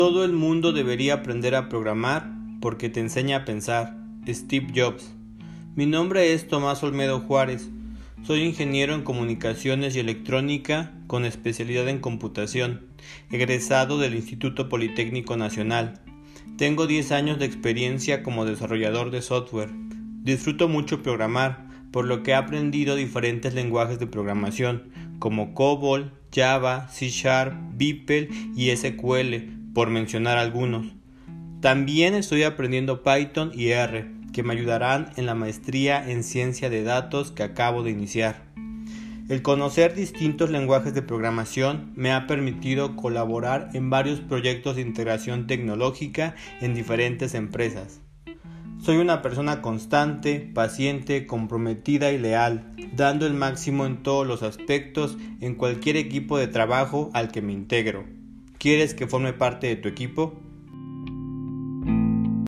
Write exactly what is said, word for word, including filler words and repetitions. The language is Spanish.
Todo el mundo debería aprender a programar porque te enseña a pensar. Steve Jobs. Mi nombre es Tomás Olmedo Juárez. Soy ingeniero en comunicaciones y electrónica con especialidad en computación, egresado del Instituto Politécnico Nacional. Tengo diez años de experiencia como desarrollador de software. Disfruto mucho programar, por lo que he aprendido diferentes lenguajes de programación como COBOL, Java, C Sharp, Vipel y S Q L, por mencionar algunos. También estoy aprendiendo Python y R, que me ayudarán en la maestría en ciencia de datos que acabo de iniciar. El conocer distintos lenguajes de programación me ha permitido colaborar en varios proyectos de integración tecnológica en diferentes empresas. Soy una persona constante, paciente, comprometida y leal, dando el máximo en todos los aspectos en cualquier equipo de trabajo al que me integro. ¿Quieres que forme parte de tu equipo?